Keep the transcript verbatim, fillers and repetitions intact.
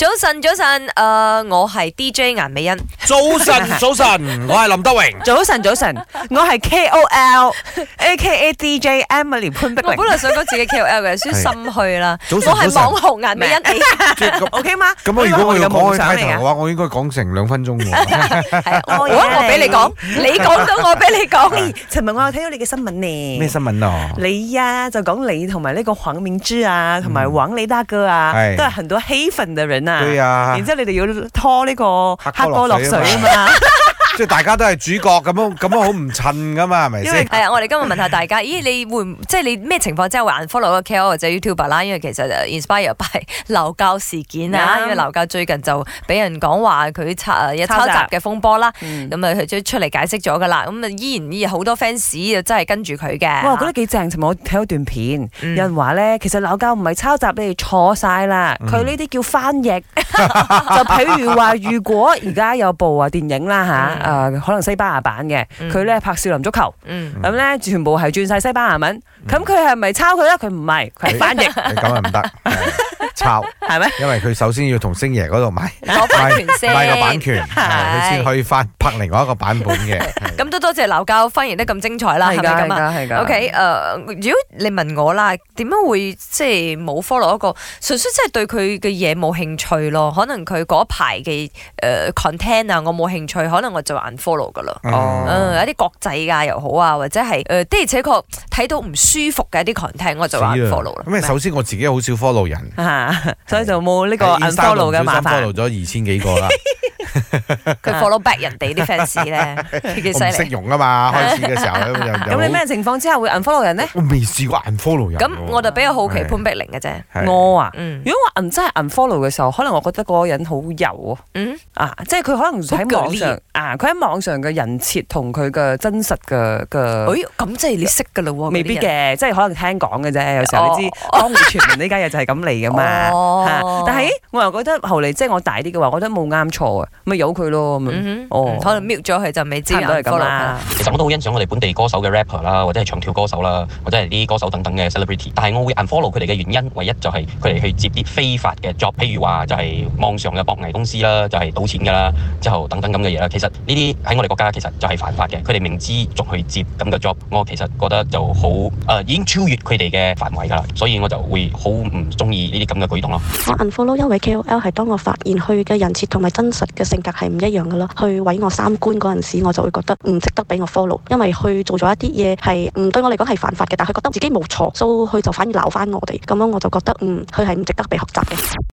早晨，早晨，誒、呃，我係 D J 顏美欣。 早晨，早晨，我係林德榮。 早晨，早晨，我係 K O L，A K A D J Emily 潘碧玲。 我本來想講自己 K O L 嘅，所以心虛啦。 早晨， 我係網紅顏美欣。 O K 嗎？ 咁我如果我要講開嚟頭嘅話，我應該講成兩分鐘喎。 係啊，我我俾你講，你講咗我俾你講。 尋日我有睇到你嘅新聞呢。 咩新聞啊？ 你呀就講你同埋呢個黃明志啊，同埋黃李大哥啊，都係很多黑粉嘅人啊。 對啊。 然之後你哋要拖呢個黑哥落水啊嘛。 即係大家都係主角咁樣，咁樣好唔襯噶嘛，係咪先？ 係啊，我哋今日問下大家，咦，你會即係你咩情況之下會 unfollow 個 K O L 或者 YouTuber 啦？因為其實 inspire by 劉教事件啊，因為劉教最近就俾人講話佢抄有抄襲嘅風波啦，咁啊佢就出嚟解釋咗噶啦，咁啊依然依然好多 fans 啊真係跟住佢嘅。 哇，我覺得幾正！尋日我睇咗段片，有人話咧，其實劉教唔係抄襲，你哋錯晒啦，佢呢啲叫翻譯。就譬如話，如果而家有部啊電影啦嚇。誒可能西班牙版嘅，佢咧拍少林足球，咁咧全部係轉晒西班牙文，咁佢係咪抄佢咧？佢唔係，佢係翻譯。 咁啊唔得，抄係咩？ 因為佢首先要同星爺嗰度買攞版權先， 買個版權，佢先可以翻拍另外一個版本嘅。 咁都多謝劉教翻譯得咁精彩啦，係咪咁啊？ 係㗎。 OK，誒，如果你問我啦，點樣會即係冇 follow 一個純粹即係對佢嘅嘢冇興趣咯？可能佢嗰排嘅誒 content 啊，我冇興趣，可能我就 unfollow 噶啦。哦，嗯，有啲國際㗎又好啊，或者係誒的而且確睇到唔舒服嘅一啲 content，我就 unfollow 啦。 咁啊，首先我自己好少 follow 人， 所以就冇呢個 unfollow 嘅麻煩。 follow 咗二千幾個啦。 佢 follow back 人哋啲 fans 咧，幾犀利。 我唔識用啊嘛，開始嘅時候咁你咩情況之下會 unfollow 人咧？ 我未試過 unfollow 人。 咁我就比較好奇潘碧玲嘅啫。 我啊，如果我真係 unfollow 嘅時候，可能我覺得嗰個人好油啊。啊，即係佢可能喺網上啊，佢喺網上嘅人設同佢嘅真實嘅嘅。 誒，咁即係你識㗎啦喎？ 未必嘅，即係可能聽講嘅啫。有時候你知江湖傳聞呢家嘢就係咁嚟㗎嘛。但係我又覺得後嚟即係我大啲嘅話，我覺得冇啱錯啊。咪由佢咯，咁哦，可能 mute 咗佢就未知都係咁啦。 其實我都好欣賞我哋本地歌手嘅 rapper 啦，或者係唱跳歌手啦，或者係啲歌手等等嘅 celebrity。但係我會 unfollow 佢哋嘅原因，唯一就係佢哋去接啲非法嘅 job，譬如話就係網上嘅博藝公司啦，就係賭錢㗎啦，之後等等咁嘅嘢啦。其實呢啲喺我哋國家其實就係犯法嘅，佢哋明知仲去接咁嘅 job，我其實覺得就好誒、呃、已經超越佢哋嘅範圍㗎啦，所以我就會好唔中意呢啲咁嘅舉動咯。 我 unfollow 一位 K O L 係當我發現佢嘅人設同埋真實嘅性格係唔一樣㗎啦，去毀我三觀嗰陣時，我就會覺得唔值得俾我 follow，因為佢做咗一啲嘢係唔對我嚟講係犯法嘅，但係佢覺得自己冇錯，所以佢就反而鬧翻我哋，咁樣我就覺得嗯，佢係唔值得被學習嘅。